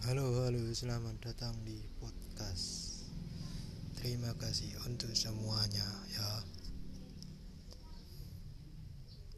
Halo, selamat datang di podcast. Terima kasih untuk semuanya ya.